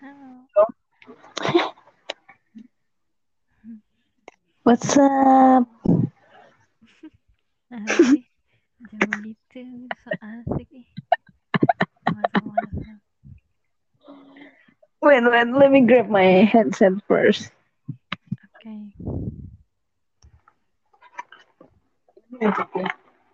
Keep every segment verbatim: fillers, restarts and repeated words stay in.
Halo. What's up? Asik. Jangan begitu. So asik ih. Masa-masa. Wait, wait, let me grab my headset first. Oke. Okay.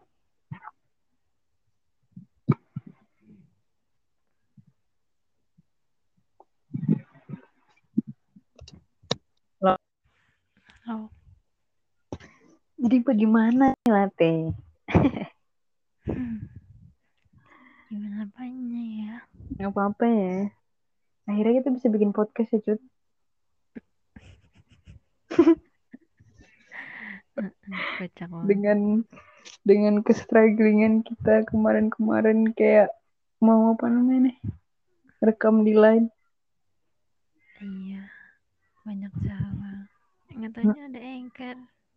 Loh, Oh. jadi bagaimana Latte? Hmm. Gimana apanya ya? Gak apa-apa ya. Akhirnya kita bisa bikin podcast ya, Cut. Kocak banget. Dengan dengan kestrugglingan kita kemarin-kemarin kayak mau apa namanya nih? Rekam di line. Iya. Banyak cara. Nggak taunya ada anchor.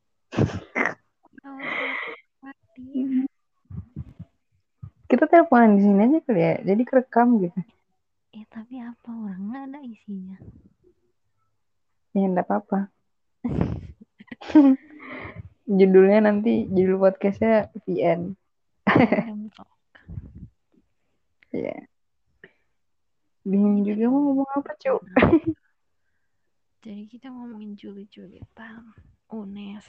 Oh, kreatif. Kita teleponan di sini aja kali ya. Jadi kerekam gitu. Eh, tapi apa orang nggak ada isinya? Ya enggak apa-apa. Judulnya nanti judul podcastnya V N. Random talk. Ya. Jadi Bingung kita juga mau ngomong ngomong apa, Cuk. apa? Jadi kita ngomongin Juli-Julitan. Unes.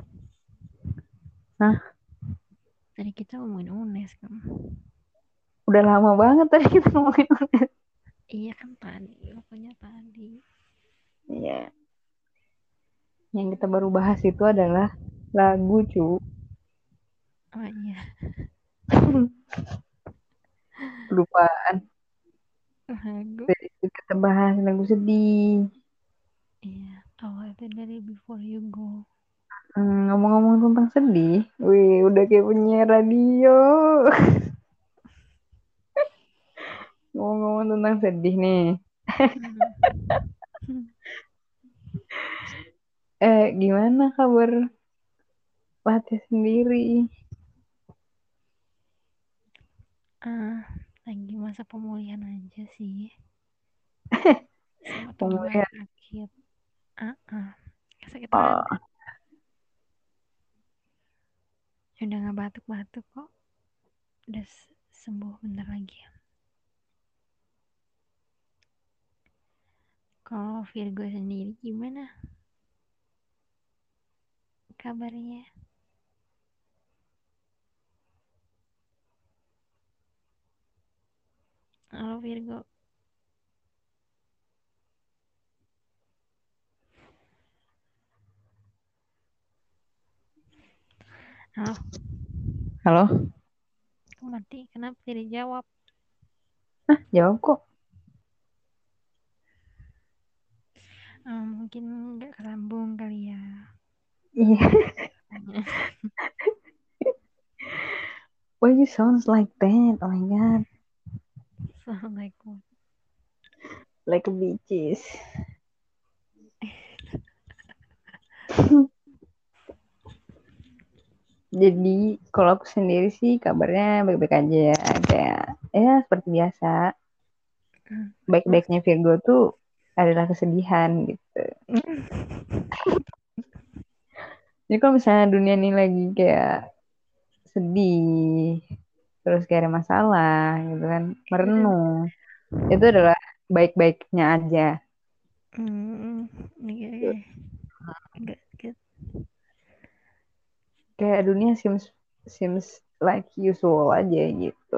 Hah? Tadi kita ngomongin Unes kan? Udah lama banget tadi kita ngomongin. Iya kan tadi, pokoknya tadi. Iya. Yang kita baru bahas itu adalah lagu, cu. Oh iya, Kelupaan. lagu. Jadi kita bahas lagu sedih. Iya, awalnya dari Before You Go. Hmm, ngomong-ngomong tentang sedih, wih, udah kayak penyiar radio. Ngomong-ngomong tentang sedih nih. Hmm. Eh, gimana kabar Fatih sendiri? Ah, lagi masa pemulihan aja sih. Sama teman Pemulihan. sakit. Ah, ah. Sakit rada. Oh, Udah nggak batuk-batuk kok. Udah sembuh bentar lagi. Kalau Virgo sendiri gimana kabarnya? Halo Virgo. Halo. halo? Kok mati? Kenapa tidak jawab? Hah, jawab kok. Ah, mungkin nggak kesambung kali ya. Iya. Why you sounds like that? Oh my god. Assalamualaikum. Like a bitches. Jadi kalau aku sendiri sih kabarnya baik-baik aja ya. Kayak ya seperti biasa. Mas. Baik-baiknya Virgo tuh adalah kesedihan gitu. Jadi kalau misalnya dunia ini lagi kayak sedih, terus kayak ada masalah gitu kan, merenung, itu adalah baik-baiknya aja. Hmm, Gitu. oke, enggak good. Kayak dunia seems seems like usual aja gitu.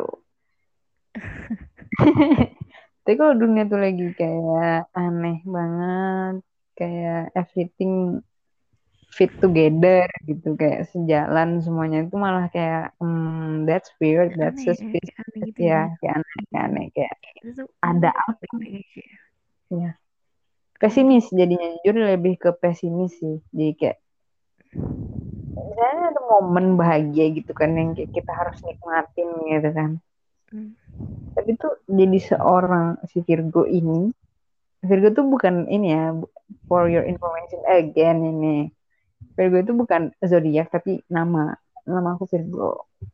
Tapi kalau dunia tuh lagi kayak aneh banget, kayak everything fit together gitu, kayak sejalan semuanya itu malah kayak hmm, that's weird, that's Aneh, eh, kayak suspicious aneh gitu ya, ya. kayak aneh, kayak aneh, kayak Itu tuh ada aneh apa baik-baik aja ya. ya. Kaget. Pesimis jadinya, jujur lebih ke pesimis sih. Jadi kayak misalnya ada momen bahagia gitu kan yang kayak kita harus nikmatin gitu kan. Hmm. Tapi tuh jadi seorang si Virgo ini, Virgo tuh bukan ini ya, for your information again ini. Virgo itu bukan zodiak tapi nama. Nama aku Virgo.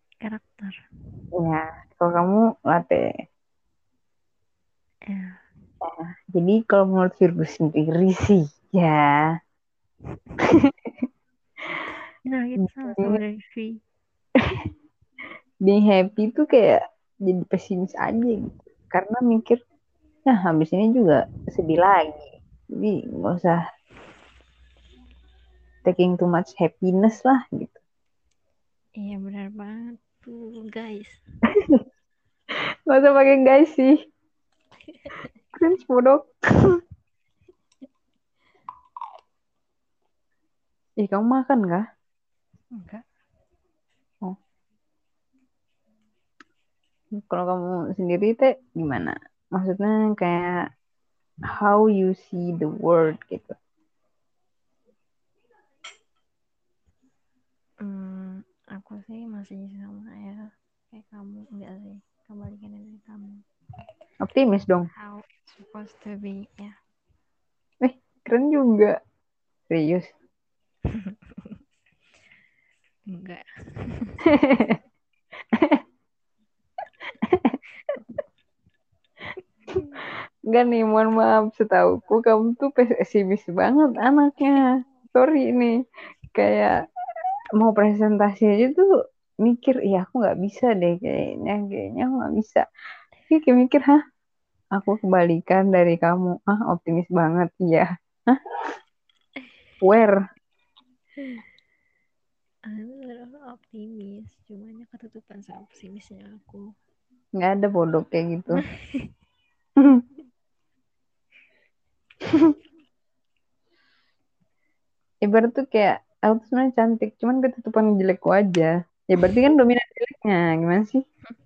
Karakter Ya, kalau kamu latte. ya. Jadi kalau menurut Virgo sendiri sih, ya Nah, kita sama-sama being, dari V. being happy tuh kayak jadi pesimis aja gitu. Karena mikir, nah habis ini juga sedih lagi. Jadi nggak usah taking too much happiness lah gitu. Iya benar banget tuh guys. Nggak usah pakai guys sih. Cringe bodoh. Ih, kamu makan kah? Enggak. Oh, kalau kamu sendiri teh gimana? Maksudnya kayak how you see the world gitu. Hmm, aku sih masih sama ya kayak kamu, enggak sih, kebalikannya dari kamu. Optimis dong. How it's supposed to be ya. Eh, keren juga. Serius. Enggak. Enggak nih, mohon maaf. Setauku kamu tuh pesimis banget anaknya. Sorry nih. Kayak mau presentasi aja tuh mikir, iya aku nggak bisa deh kayaknya. Kayaknya aku nggak bisa. Tapi kayak mikir, hah? Aku kebalikan dari kamu. Ah, optimis banget. Iya. Hah? Where? Aku selalu optimis, cuman ketutupan sama pesimisnya aku. Nggak ada bodoh kayak gitu. Ibarat tuh kayak aku tuh sebenarnya cantik, cuman ketutupan jelekku aja. Ya berarti kan dominan jeleknya, gimana sih?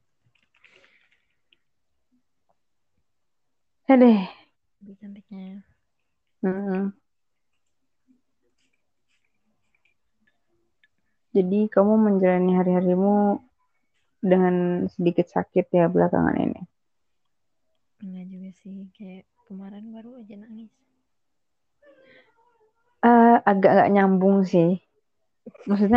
Eh deh. Lebih cantiknya. Hmm. Jadi kamu menjalani hari-harimu dengan sedikit sakit ya belakangan ini. Enggak juga sih, kayak kemarin baru aja nangis. Eh, agak nggak nyambung sih. Maksudnya,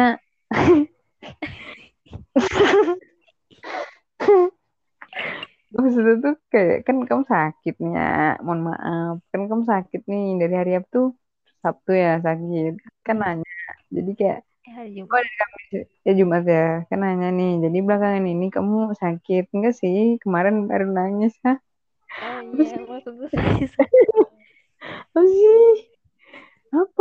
maksudnya tuh kayak kan kamu sakitnya, mohon maaf, kan kamu sakit nih dari hari apa tuh Sabtu ya sakit, kan Hmm. nanya. Jadi kayak, Eh, hari oh Jumat. dari Kamis ya Jumat ya, kan nanya nih. Jadi belakangan ini kamu sakit enggak sih? Kemarin baru nangis, hah? Oh Apa iya, sih? maksudku saya sakit. Apa sih? Apa?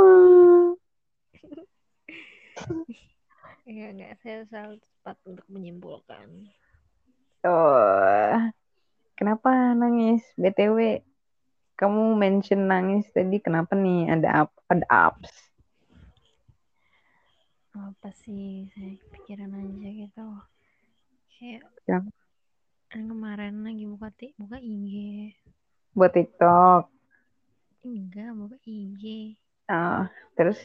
Enggak, enggak, saya selalu cepat untuk menyimpulkan. Oh, kenapa nangis? B T W, kamu mention nangis tadi kenapa nih? Ada up, ada ups. Apa sih, saya pikiran aja gitu. Kayak Yang kan kemarin lagi buka tik buka I G. buat TikTok. Enggak, buka I G. Ah, terus,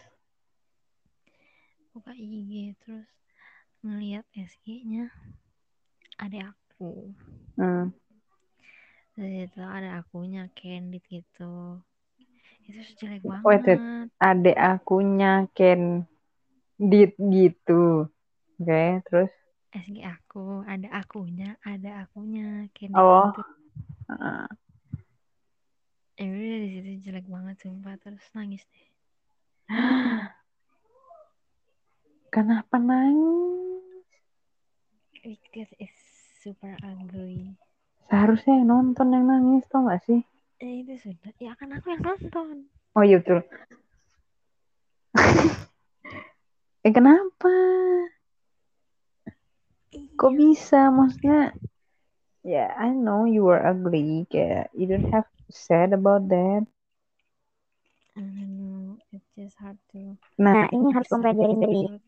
Buka I G terus ngelihat S G-nya ada aku. hmm. Terus itu ada akunya Candid gitu. Itu jelek Wait, wait. banget. Adek akunya Candid gitu. Oke, terus, S G aku, ada akunya, ada akunya Candid oh, gitu. ah. Ya udah di situ jelek banget sumpah, terus nangis deh. Kenapa nangis? Because it's super ugly. Seharusnya yang nonton yang nangis, tau gak sih? Eh itu sudah, ya kan aku yang nonton. Oh iya betul. Eh kenapa? Kok Iya. bisa? Maksudnya, ya I know you are ugly. Kayak, you don't have to sad about that. I don't know, it's just hard to Nah, ini harus kamu accept pelajarin the dari, truth.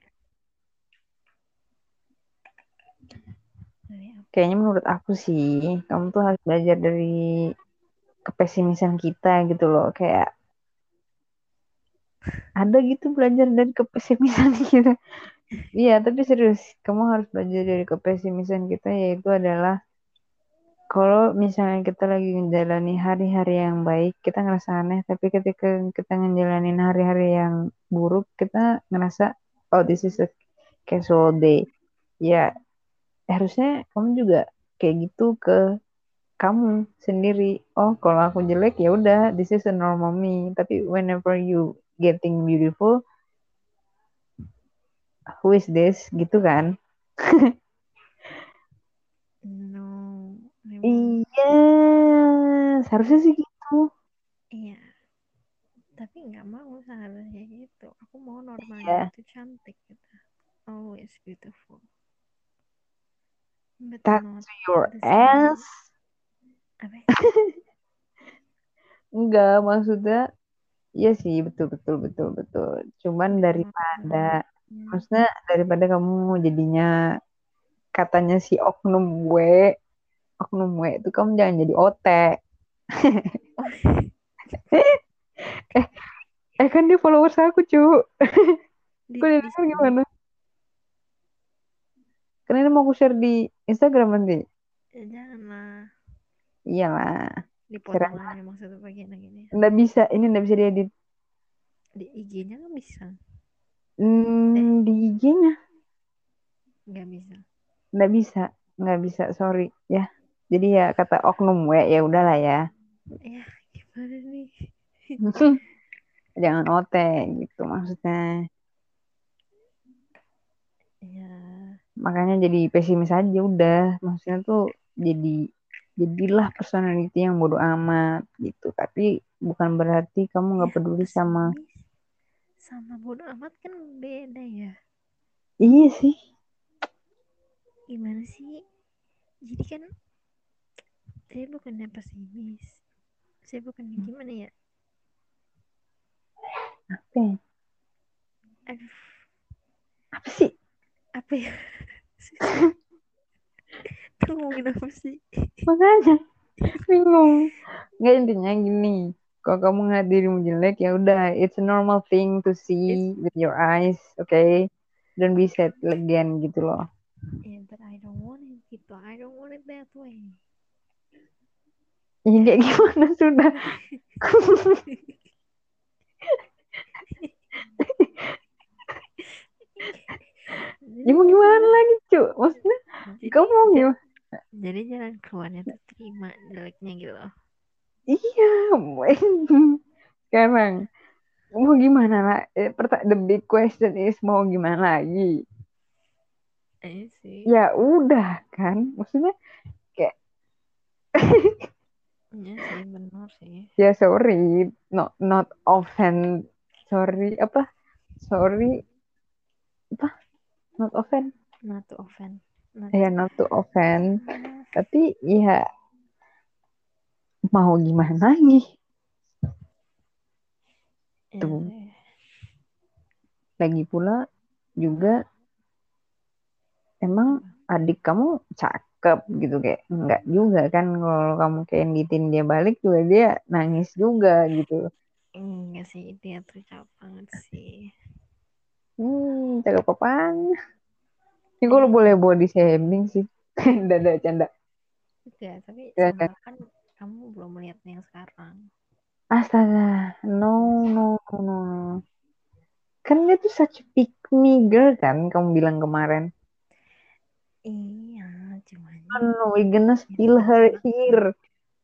Dari apa? kayaknya menurut aku sih, kamu tuh harus belajar dari kepesimisan kita gitu loh. Kayak, ada gitu belajar dari kepesimisan kita. Iya, tapi serius, kamu harus belajar dari kepesimisan kita, yaitu adalah kalau misalnya kita lagi menjalani hari-hari yang baik, kita ngerasa aneh, tapi ketika kita ngejalanin hari-hari yang buruk, kita ngerasa, oh this is a casual day. Ya, harusnya kamu juga kayak gitu ke kamu sendiri. Oh, kalau aku jelek ya udah, this is a normal me. Tapi whenever you getting beautiful, who is this? Gitu kan? No, memang Iya, seharusnya sih gitu. iya, tapi nggak mau seharusnya gitu. Aku mau normalnya Ya, itu cantik gitu. Always beautiful, but touch not your the same ass. way. Apa? Enggak, maksudnya iya sih, betul betul betul betul. Cuman Nggak daripada maksudnya. maksudnya daripada kamu jadinya katanya si oknum W, oknum W itu kamu jangan jadi O T. Oh, Eh, eh kan dia followers aku, cu. di Kok dia di denger gimana? Karena ini mau aku share di Instagram nanti. janganlah Iyalah. Share dipotong aja. aja maksudnya bagian yang ini. Nggak bisa, ini nggak bisa diedit. Di I G-nya kan bisa. Eh, Hmm, di I G-nya nggak bisa. nggak bisa, nggak bisa, sorry ya. Jadi ya kata oknum W ya udahlah ya. Ya, gimana nih? Jangan O T gitu maksudnya. Ya, Makanya jadi pesimis aja udah. Maksudnya tuh jadi jadilah personality yang bodo amat gitu. Tapi bukan berarti kamu nggak ya peduli sama. pesimis sama bodo amat kan beda ya. Iya sih. Gimana sih? Jadi kan saya bukannya pesimis. Saya bukannya gimana ya? Apa ya? Aduh, Apa sih? apa ya? Susah. Tuh ngomongin apa sih? Makanya bingung. Nggak, intinya gini. Kalau kamu ngeliat dirimu jelek ya udah, it's a normal thing to see It's with your eyes, okay? Don't be sad again gitu loh. yeah, but I don't want it gitu. I don't want it that way. Ini kayak Karena gimana sudah? jadi Ya mau gimana maksudnya lagi, cu? Maksudnya jadi kamu mau ja- gimana? jadi jalan keluarnya tuh terima jeleknya gitu loh. Iya, sekarang mau gimana lah? Eh, perta- the big question is mau gimana lagi? Eh sih. Ya udah kan, maksudnya kayak Iya sih benar sih. ya sorry, not not offend, sorry apa? Sorry apa? Not offend, Not to offend. Not ya to not to offend. ah, Tapi ya mau gimana lagi? iya Tuh, sih. lagi pula juga emang Apa? adik kamu cakep gitu kayak enggak juga kan kalau kamu kayak ngikutin dia balik juga dia nangis juga gitu. Enggak sih dia tuh cakep banget sih. Hmm, cakep apaan? Ini kalau Eh boleh body shaming sih. Dada canda. enggak tapi Ya kan? soalnya kan kamu belum melihat yang sekarang. Astaga, no, Iya. no, no, no, no. Kan dia tuh such a pick me girl kan, kamu bilang kemarin. Iya, cuman No, no, we're gonna ya spill tetap her cakep. here.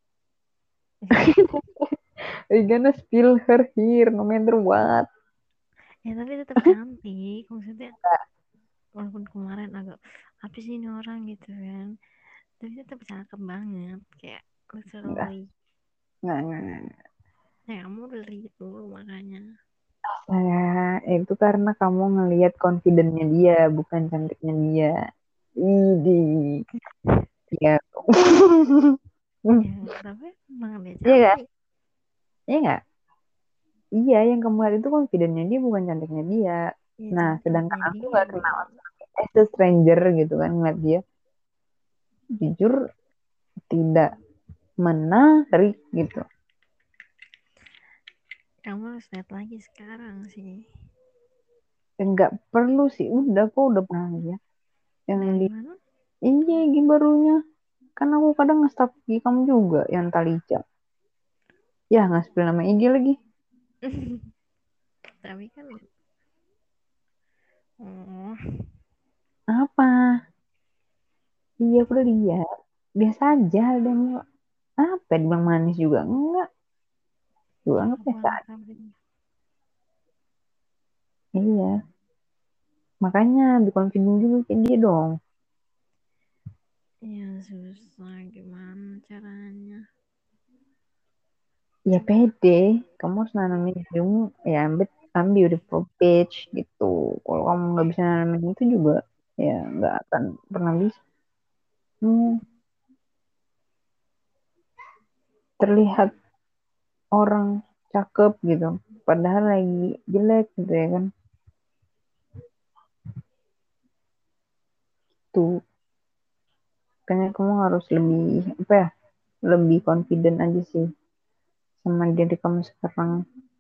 We're gonna spill her here, no matter what. Ya tapi tetap cantik. Maksudnya walaupun kemarin agak apa sih ini orang gitu kan. Tapi tetap cakep banget. Kayak Enggak, literally. enggak, enggak, enggak. Ya kamu udah lihat dulu makanya. Saya itu karena kamu ngelihat confident-nya dia, bukan cantiknya dia. Idi, iya. Ya tapi emang dia Iya kan? cantik. Iya nggak? Iya, yang kamu lihat itu confident-nya dia, bukan cantiknya dia. Ya Nah, sedangkan cantiknya aku dia nggak kenal dong. as a stranger gitu kan, ngeliat dia jujur tidak menarik gitu. Kamu harus lihat lagi sekarang sih. Enggak perlu sih, udah kok udah pernah ya. Yang Dari di mana? iya gigi barunya. Kan aku kadang nge-stalk gigi kamu juga, yang Talica. Ya, nggak spill nama I G lagi. Tapi kan oh Apa? Iya, aku udah lihat. Biasa aja dan Kayak dibilang manis juga enggak. Juga enggak Aku biasa. anak kambing. Iya. Makanya be confident juga kayak dia dong. Ya susah, gimana caranya? Ya pede. Kamu harus nanamin dirimu. Ya ambil I'm beautiful bitch gitu. Kalau kamu nggak bisa nanamin itu juga, ya nggak akan pernah bisa. Hmm, terlihat orang cakep gitu. Padahal lagi jelek gitu ya kan. Tuh. Kayaknya kamu harus lebih, apa ya, lebih confident aja sih sama diri kamu sekarang.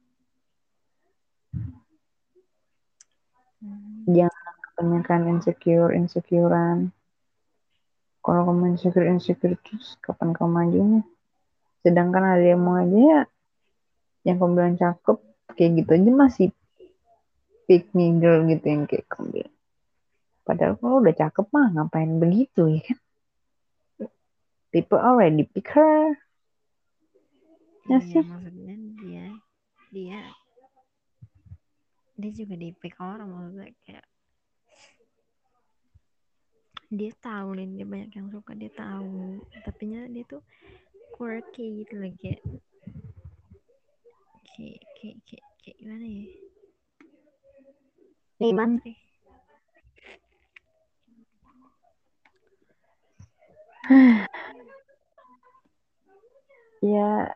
Hmm. Jangan kebanyakan insecure, insecurean. Kalau kamu insecure, insecure terus kapan kamu majunya? Sedangkan ada yang mau aja ya, yang kamu bilang cakep, kayak gitu aja masih pick me girl gitu yang kayak kamu bilang. Padahal kalau udah cakep mah ngapain begitu ya kan? People already pick her. Ya Iya, sih? maksudnya dia dia dia juga di pick orang, maksudnya kayak dia tahu nih dia banyak yang suka, dia tahu, tapi nya dia tuh quirky gitu loh, kayak kayak kayak kayak, kayak gimana ya, Gimana? Putri. Ya,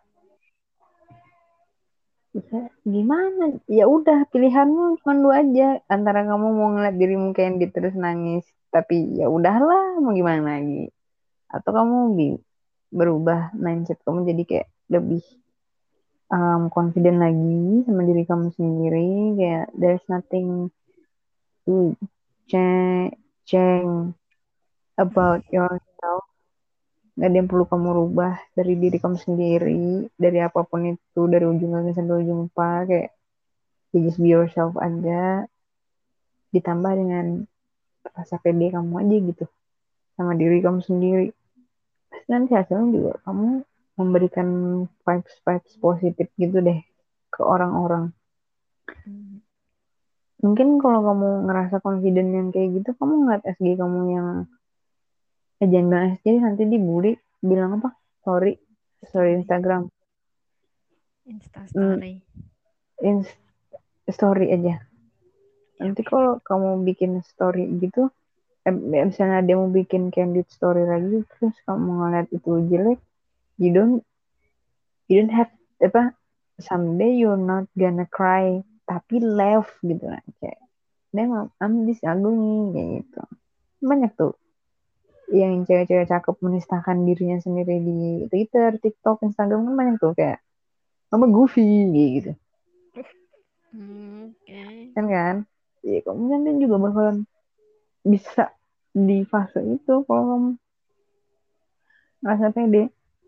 ya gimana? Ya udah pilihanmu cuma dua aja. Antara kamu mau ngeliat dirimu Candy terus nangis, tapi ya udahlah mau gimana lagi. Atau kamu bi- berubah mindset kamu jadi kayak lebih um, confident lagi sama diri kamu sendiri, kayak there's nothing to change change about yourself. Gak ada yang perlu kamu rubah dari diri kamu sendiri, dari apapun itu, dari ujung langit sampai ujung kepala, kayak you just be yourself aja, ditambah dengan rasa pede kamu aja gitu sama diri kamu sendiri. Pasti nanti hasilnya juga kamu memberikan vibes vibes positif gitu deh ke orang-orang. Hmm. Mungkin kalau kamu ngerasa confident yang kayak gitu, kamu ngeliat S G kamu yang, eh jangan bilang S G, nanti dibully, bilang apa? Sorry, sorry Story, Instagram. Insta Hmm, story. in- story aja. Yap. Nanti kalau kamu bikin story gitu, eh, misalnya dia mau bikin candid story lagi, terus kamu ngeliat itu jelek, you don't, you don't have, apa, someday you're not gonna cry, tapi laugh gitu lah. Kayak, memang, I'm this ugly, kayak gitu. Banyak tuh yang cewek-cewek cakep menistakan dirinya sendiri di Twitter, TikTok, Instagram kan banyak tuh kayak sama Goofy gitu Hmm, oke. Okay. kan kan ya kamu nanti juga bakalan bisa di fase itu kalau kamu ngerasa pede.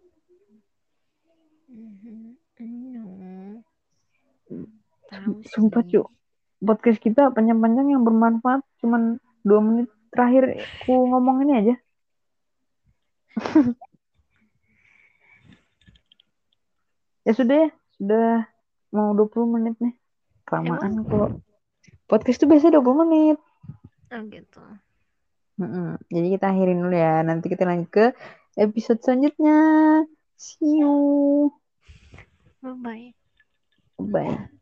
Mhm. No, tahu Sumpah sih. cu, podcast kita panjang-panjang yang bermanfaat cuman dua menit terakhir ku ngomong ini aja. Ya sudah ya, sudah mau dua puluh menit nih, kelamaan Emang? kalau podcast tuh biasanya dua puluh menit. Oh gitu. Mm-mm. Jadi kita akhirin dulu ya. Nanti kita lanjut ke episode selanjutnya. See you. Bye bye. Bye.